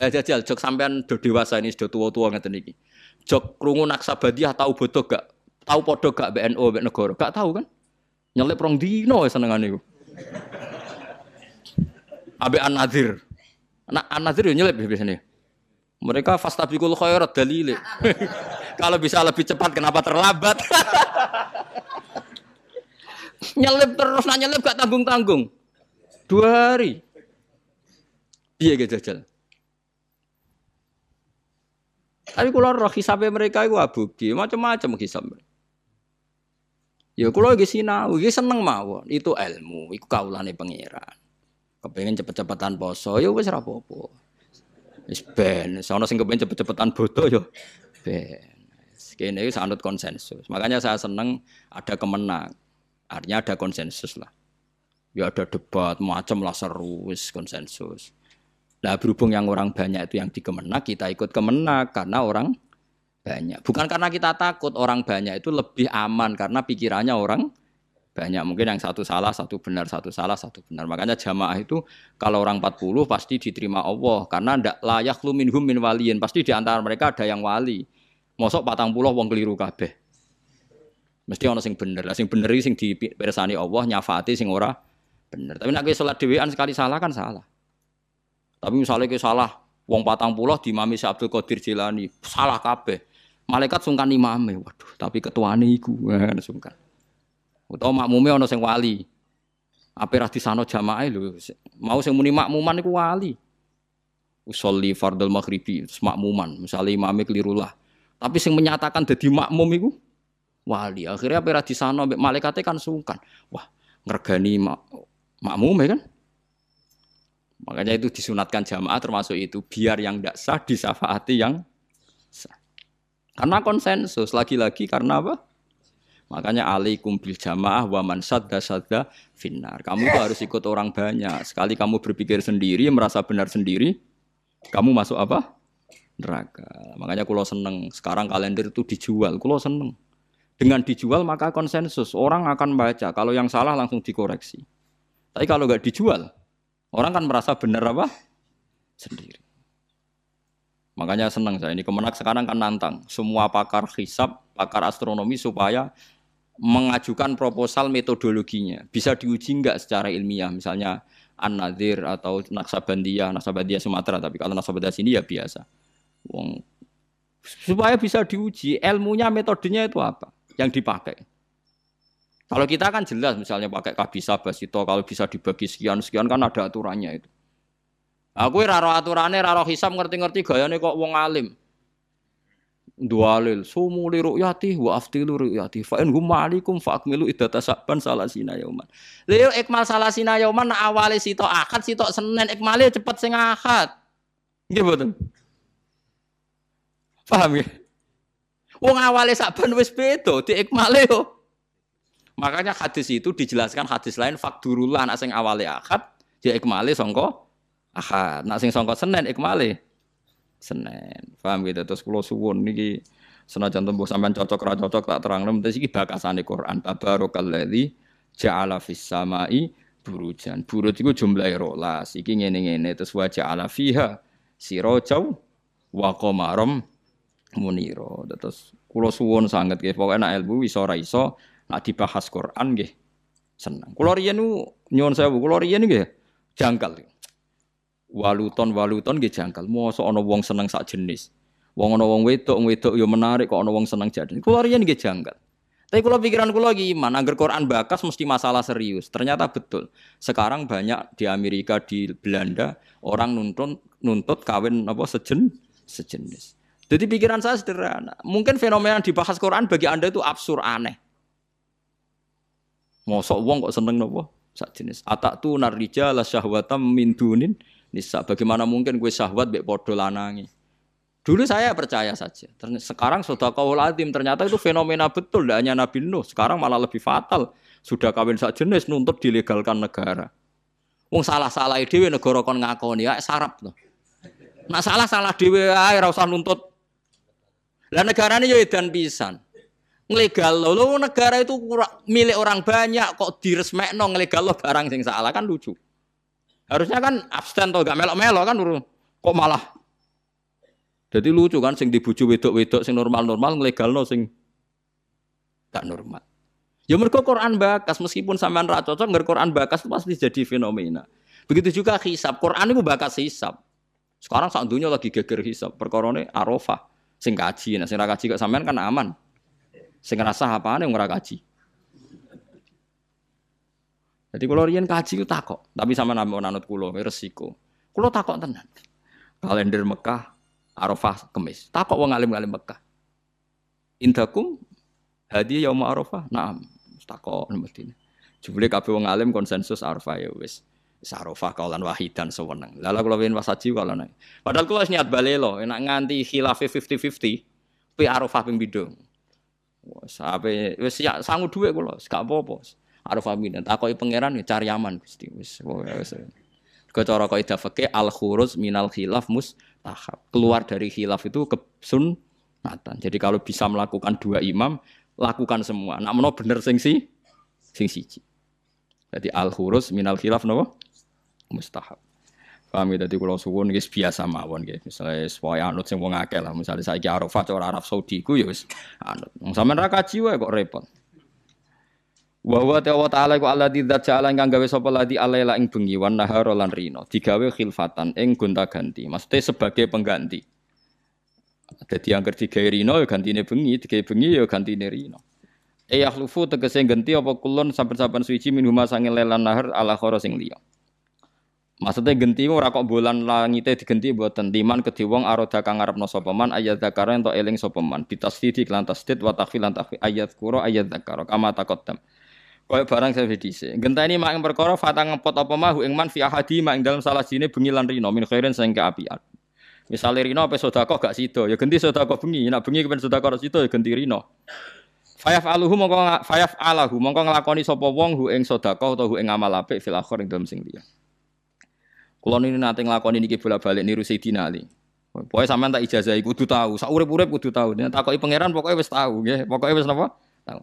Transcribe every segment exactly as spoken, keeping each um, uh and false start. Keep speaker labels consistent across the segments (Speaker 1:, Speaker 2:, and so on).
Speaker 1: Lah jajal jok sampean do dewasa ini sudah tua-tua ngeten iki. Jok krungu Naksabandiyah tahu bodoh gak? Tahu podo gak B N U mbek negara? Gak tahu kan? Nyelip rong dino senengane iku. Ambek An-Nadzir. Nah, An-Nadzir yo nyelip biasanya. Mereka fastabiqul khairat dalile. Kalau bisa lebih cepat kenapa terlambat? Nyelip terus nak nyelip gak tanggung-tanggung. Dua hari. Piye ge jajal? Tapi kula roh hisabe mereka iku abugi, macam-macam hisab. Ya kula iki sinau, iki seneng mawon. Itu ilmu, iku kaulane pangeran. Kepengin cepet-cepetan poso, ya wis ora apa-apa. Wis ben, sono sing kepengin cepet-cepetan bodo ya ben. Kene iki sanut konsensus. Makanya saya seneng ada kemenang. Artinya ada konsensus lah. Ya ada debat macam lah seru wis konsensus. Nah berhubung yang orang banyak itu yang dikemenak, kita ikut kemenak karena orang banyak. Bukan karena kita takut orang banyak itu lebih aman karena pikirannya orang banyak. Mungkin yang satu salah, satu benar, satu salah, satu benar. Makanya jamaah itu kalau orang empat puluh pasti diterima Allah karena ndak layak lu minhum min waliyin. Pasti di antara mereka ada yang wali. Mosok patang puluh wong keliru kabeh. Mesti ana sing bener. Lah sing bener iki sing dipirsani Allah nyafaati sing ora bener. Tapi nek kowe salat dhewean sekali salah kan salah. Tapi misalnya ke salah, wong patang puluh di Imam Abdul Qadir Jilani salah kabeh. Malaikat sungkan imame, waduh. Tapi ketuane iku, kan sungkan. Utawa makmume ana sing wali. Ape ra disano jamaah lho. Mau sing muni makmuman iku wali. Usolli fardhul maghribi, makmuman. Misalnya imame keliru lah. Tapi sing menyatakan dadi makmum iku wali. Akhirnya ape ra disano mbek malaikate kan sungkan. Wah, ngregani mak makmume kan? Makanya itu disunatkan jamaah termasuk itu biar yang tidak sah disafaati yang sah. Karena konsensus lagi-lagi karena apa? Makanya alaikum bil jamaah wa man sadda sadda finnar. Kamu tuh harus ikut orang banyak. Sekali kamu berpikir sendiri, merasa benar sendiri, kamu masuk apa? Neraka. Makanya kulo seneng sekarang kalender itu dijual. Kulo seneng. Dengan dijual maka konsensus orang akan baca. Kalau yang salah langsung dikoreksi. Tapi kalau nggak dijual orang kan merasa benar apa? Sendiri. Makanya senang saya ini Kemenak sekarang kan nantang semua pakar hisab, pakar astronomi supaya mengajukan proposal metodologinya. Bisa diuji enggak secara ilmiah, misalnya An-Nadzir atau Naksabandiyah, Naksabandiyah Sumatera, tapi kalau Naksabandiyah sini ya biasa. Wong supaya bisa diuji ilmunya, metodenya itu apa yang dipakai. Kalau kita kan jelas misalnya pakai kabisa basito kalau bisa dibagi sekian-sekian kan ada aturannya itu. Aku ora ro aturane, ora ro hisab ngerti-ngerti gayane kok wong alim. Dualil sumu li ru'yati wa aftilu ru'yati fa in hum ma'alikum fa akmilu iddata saban salasina yauman. Lha ikmal salasina yauman awale sitok akad sitok Senin ikmale cepet sing akad. Nggih mboten? Paham ya? Wong awale saban wis beda diikmale yo. Makanya hadis itu dijelaskan hadis lain fakdurullah nak sing awale akad dia ikmale sangka akad. Nak sing sangka Senin ikmale Senin. Paham gitu terus kula suwun niki senajan tembuh sampean cocok ra cocok tak terangno mesti iki bakasane Quran. Tabarakalladzi ja'ala fis samai burujan. Buruj iku jumlahe rolas. Iki ngene-ngene terus wa ja'ala fiha sirajau wa qamaram munira. Terus kula suwun sanget nggih pokoke nek ilmu iso ora iso nak dibahas Quran nggih seneng. Kula riyen nyuwun sewu, kula riyen nggih jangkal. Waluton waluton nggih jangkal. Mosok ana wong seneng sak jenis. Wong ana wong wedok, wedok ya menarik kok ana wong seneng jadi. Kula riyen nggih jangkal. Tapi kula pikiran kula iki iman, angger Quran bakas mesti masalah serius. Ternyata betul. Sekarang banyak di Amerika, di Belanda orang nuntut nuntut kawin apa sejen sejenis. Jadi pikiran saya sederhana. Mungkin fenomena yang dibahas Quran bagi Anda itu absurd aneh. Mosok wong kok seneng napa? Sak jenis. Atatu narija la syahwatam min dunin nisa. Bagaimana mungkin gue syahwat mbek padha lanange? Dulu saya percaya saja. Sekarang sudah qaul azim ternyata itu fenomena betul, tidak hanya Nabi Nuh. Sekarang malah lebih fatal. Sudah kawin sak jenis nuntut dilegalkan negara. Wong salah-salah dhewe negara kon ngakoni ya sarap to. Nak salah-salah dhewe ae ora usah nuntut. Lah negarane yo edan pisan. Nglegal lo negara itu milik orang banyak kok diresmekno nglegal lo barang sing salah kan lucu. Harusnya kan abstain to gak melok-melok kan kok malah Jadi lucu kan sing dibuju wedok-wedok sing normal-normal nglegalno sing gak normal. Ya mergo Quran bakas meskipun sampean ra cocok ngger Quran bakas itu pasti jadi fenomena. Begitu juga hisab. Quran itu bakas hisab. Sekarang sak dunya lagi geger hisab. Perkarane Arafah sing kaji. Nah sing ra kaji kok sampean kan aman. Sing ngrasa apane wong ora kaji. Jadi kalau riyen kaji ku takok, tapi sampean ambek nanut kula resiko. Kula takok tenan. Kalender Mekah Arafah Kemis. Takok wong alim-alim Mekah. Indakum hadiah yaum Arafah. Naam. Takok mestine. Jebule kabeh wong alim konsensus Arafah ya wis. Wis Arafah kaulan wahidan sewenang. Lala kula wen wasaji kala nek. Padahal kula wis niat balelo, enak nganti khilafe fifty fifty, pi Arafah ping pindho. Wes ape wis ya sangu dhuwit kula, gak apa-apa. Arafah pindho. Takoki pangeran ya cari aman Gusti. Wis wis. Cara kaidah fikih al khuruj minal khilaf mustahab. Keluar dari khilaf itu kesunatan. Jadi kalau bisa melakukan dua imam lakukan semua. Nak menawa bener sing si sing siji. Jadi al khurus minal khilaf napa? Mustahab. Paham ya dadi kula suwun wis biasa mawon nggih. Misale supaya anut sing wong akeh lah. Misale saiki Arafah cara Arab Saudi ku ya wis anut. Wong sampean ra kaji wae kok repot. Wa wa ta'ala ku alladzi dzat ja'ala kang gawe sapa ladi alaila ing bengi wan nahara lan rino. Digawe khilfatan ing gonta-ganti. Maksudnya sebagai pengganti. Dadi angger digawe rino ya gantine bengi, digawe bengi ya gantine rino. E yakhlufu tegese ganti apa kulon saben-saben suci minhuma sange lelan nahar ala khara sing liya. Maksudnya genti ora kok bolan langite digenti mboten timan kedhe wong aroda kang ngarepno sapa man ayat zakara ento eling sapa man bitasdid lan tasdid wa takhfil lan takhfil ayat qura ayat zakara kama taqaddam. Kaya barang saya dhisik. Genteni mak ing perkara fatang ngepot apa mahu ing man fi ahadi mak ing dalem salah sine bengi lan rino min khairin sing kaapian. Misale rino apa sedekah gak sida, ya genti sedekah bengi, nek bengi kepen sedekah sida ya genti rino. Fayaf aluhu mongko fayaf alahu mongko nglakoni sapa wong hu ing sedekah utawa hu ing amal apik fil akhir ing dalem sing liya. Kula niki nate nglakoni niki bolak-balik niru Sayyidina Ali. Pokoke sampean tak ijazahi kudu tahu, sak urip-urip kudu tahu. Nek takoki pangeran pokoke wis tahu nggih, pokoke wis napa? Tahu.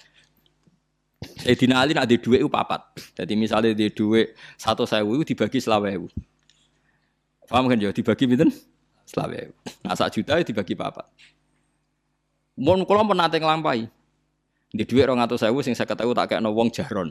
Speaker 1: Sayyidina Ali nek di dhuwit ku papat. Dadi misale di dhuwit seratus ribu dibagi selawe ribu. Paham kan ya dibagi pinten? Selawe. Nah sak juta dibagi papat. Mun kula pun nate nglampahi. Di dhuwit dua ratus ribu sing saya ketahui tak kekno wong jahron.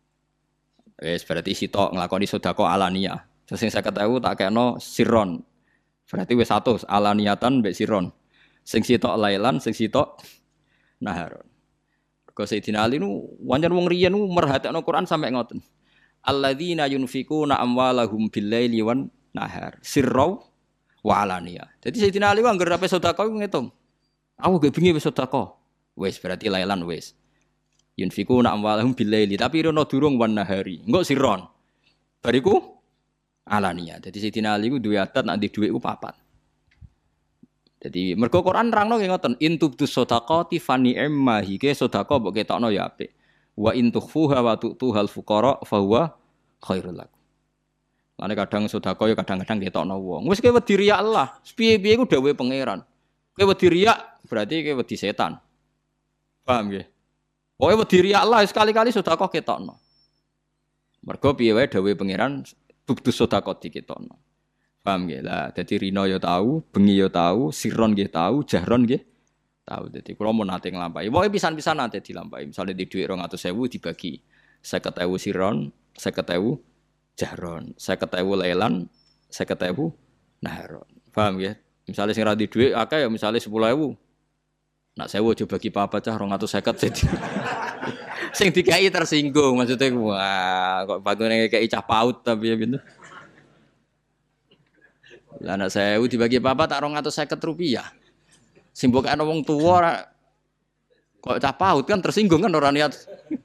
Speaker 1: Wis berarti sitok nglakoni sedekah alaniah. Sing saya ketahui tak kekno sirron. Berarti wis seratus alaniatan mbek sirron. Sing sitok lailan, sing sitok naharon. Kau Sayyidina Ali nu wajan wong riyen nu merhatekno Quran sampai ngoten. Alladzina yunfikuna amwalahum bil-laili wan nahar sirra wa alaniya. Jadi Sayyidina Ali ku anggere ape sedekah ngitung. Aku gak bengi wis sedekah. Wis berarti lailan wis. Yunfikuna amwalahum bil-laili tapi rono durung wan nahari. Engko sirron. Bariku alaniya. Jadi Sayyidina Ali ku duwe adat nek di dhuwit ku papat. Jadi mergo Quran nerangno nggih ngoten intubtus shadaqati fani emma hike sedekah mbok ketokno ya apik. Wa intukhfuha wa tu'tuhal fuqara fa huwa khairul lakum. Lane kadang sedekah ya kadang-kadang ketokno wong. Wis kowe wedi riya Allah, piye-piye ku dawuhe pangeran. Kowe wedi riya berarti kowe wedi setan. Paham nggih? Kowe wedi riya Allah sekali-kali sedekah ketokno. Mergo piye wae dawuhe pangeran tubtus sedekah diketokno. Paham nggih lah. Dadi rino ya tahu, bengi ya tahu, sirron nggih tahu, jahron nggih tahu. Dadi kula mun nate nglampahi. Pokoke pisan-pisan nate dilampahi. Misale di dhuwit dua ratus ribu dibagi seket ribu sirron, seket ribu jahron, seket ribu lailan, seket ribu naharon. Paham nggih? Misale sing ra di dhuwit akeh ya misale sepuluh ribu. Nak sewu aja bagi papat cah dua ratus lima puluh sing dikai tersinggung maksudnya wah kok bagone kei cah paut tapi ya pintu. Lah anak saya dibagi papa tak rong atau seket rupiah. Simbol kan wong tua kok cah paut kan tersinggung kan orang niat.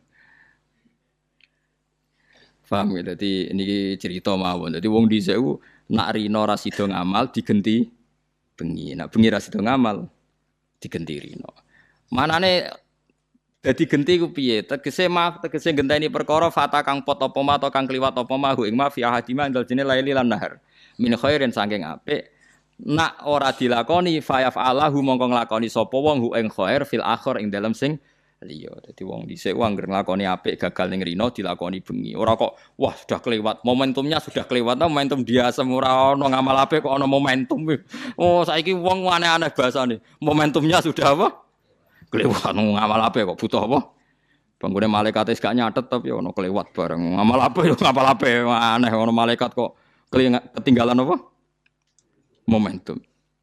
Speaker 1: Paham ya? Jadi ini cerita mawon. Jadi wong dhisik ku nak rino ra sida ngamal digenti bengi. Nak bengi ra sida ngamal digenti rino. Manane dadi genti ku piye? Tegese maaf tegese genteni perkara fata kang pot apa ma atau kang kliwat apa ma ing ma fi ahadima indal jene laili lan nahar. Min khairin saking apik nak ora dilakoni fayaf alahu mongko nglakoni sapa wong hu ing khair fil akhir ing dalem sing liya. Dadi wong dhisik wong anggere nglakoni apik gagal ning rino dilakoni bengi. Ora kok wah sudah kelewat, momentumnya sudah kelewat. Momentum dia semua ono ngamal apik kok ono momentum. Oh saiki wong aneh-aneh bahasane. Momentumnya sudah apa? Kelewat ngamal apik kok butuh apa? Banggune malaikat wis gak nyatet tapi ono kelewat bareng. Ngamal apik yo ngamal apik aneh ono malaikat kok ketinggalan apa? Momentum.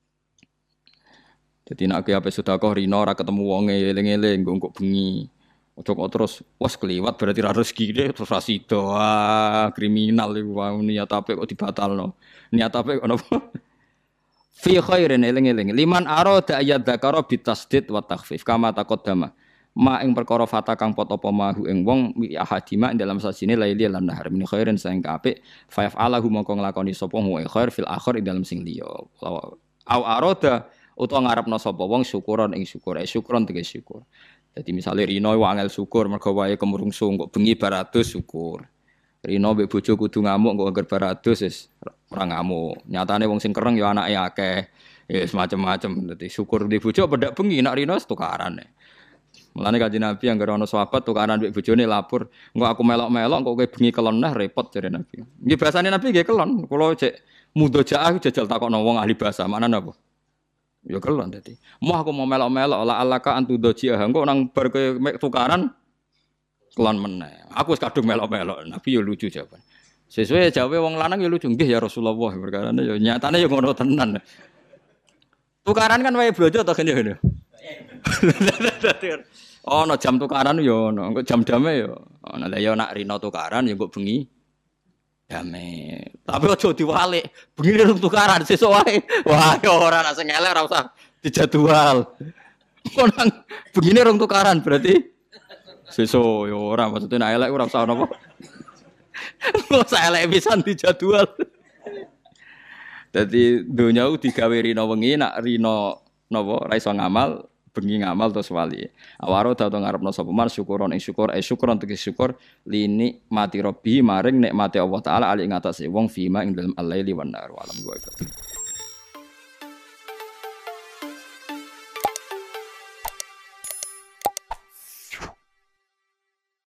Speaker 1: Jadi nak ke apa sedekah rino ora ketemu wonge eling-eling nggo bengi. Ojo kok terus wes kliwat berarti ra rezeki deh terus ra sida. Ah, kriminal iku niat apik kok dibatalno. Niat apik kok napa? Fi khairin eling-eling. Liman arada ayat dzakara bitasdid wa takhfif kama taqaddama. Ma ing perkara fata kang pot apa mahu ing wong wi ahadima ing dalam sasine laili lan nahar min khairin sing apik fa yaf'alahu mongko nglakoni sapa wa khair fil akhir ing dalam sing liya. Au arada utawa ngarepno sapa wong syukuran ing syukur, eh syukuran tegese syukur. Dadi misale Rino wangel syukur mergo wae kemrungsung kok bengi baratus syukur. Rino mbek bojo kudu ngamuk kok anggar baratus wis ora ngamuk. Nyatane wong sing kereng ya anake akeh. Ya semacam-macam. Dadi syukur di bojo pedak bengi nak Rino tukaran. Mulane Kanjeng Nabi anggere ana sahabat tukaran mbek bojone lapor, engko aku melok-melok kok kowe bengi kelon nah repot jare Nabi. Nggih bahasane Nabi nggih kelon. Kula cek mudojaah jajal takokno wong ahli bahasa. Maknane apa? Ya kelon dadi. Mau aku mau melok-melok la alaka antu doji engko nang bar ke tukaran kelon meneh. Aku wis kadung melok-melok. Nabi ya lucu jawaban. Sesuai jawabe wong lanang ya lucu. Nggih ya Rasulullah perkarane ya nyatane ya ngono tenan. Tukaran kan wae blojo to ngene. Oh, no jam tukaran ya ono. Engko jam-jame ya. Ana lha ya nak rino tukaran ya kok bengi dame. Tapi aja diwalik. Bengi rung tukaran sesuk wae. Wah, ora ana sing elek ora usah dijadwal. Kok nang bengine rung tukaran berarti sesuk ya ora maksudnya nek elek ora usah napa. Kok sak elek pisan dijadwal. Dadi donya digawe rino wengi nak rino napa ra iso ngamal bengi ngamal terus wali. Awaro datang ngarepno sapa man syukuron ing syukur eh syukuron tegese syukur lini mati robbi maring nikmate Allah taala ali ing atase wong fima ing dalem al-laili wan nar. Alam gua